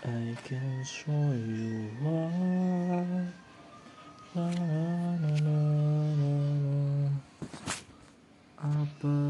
I can show you why. La, la, la, la, la, la. Apa?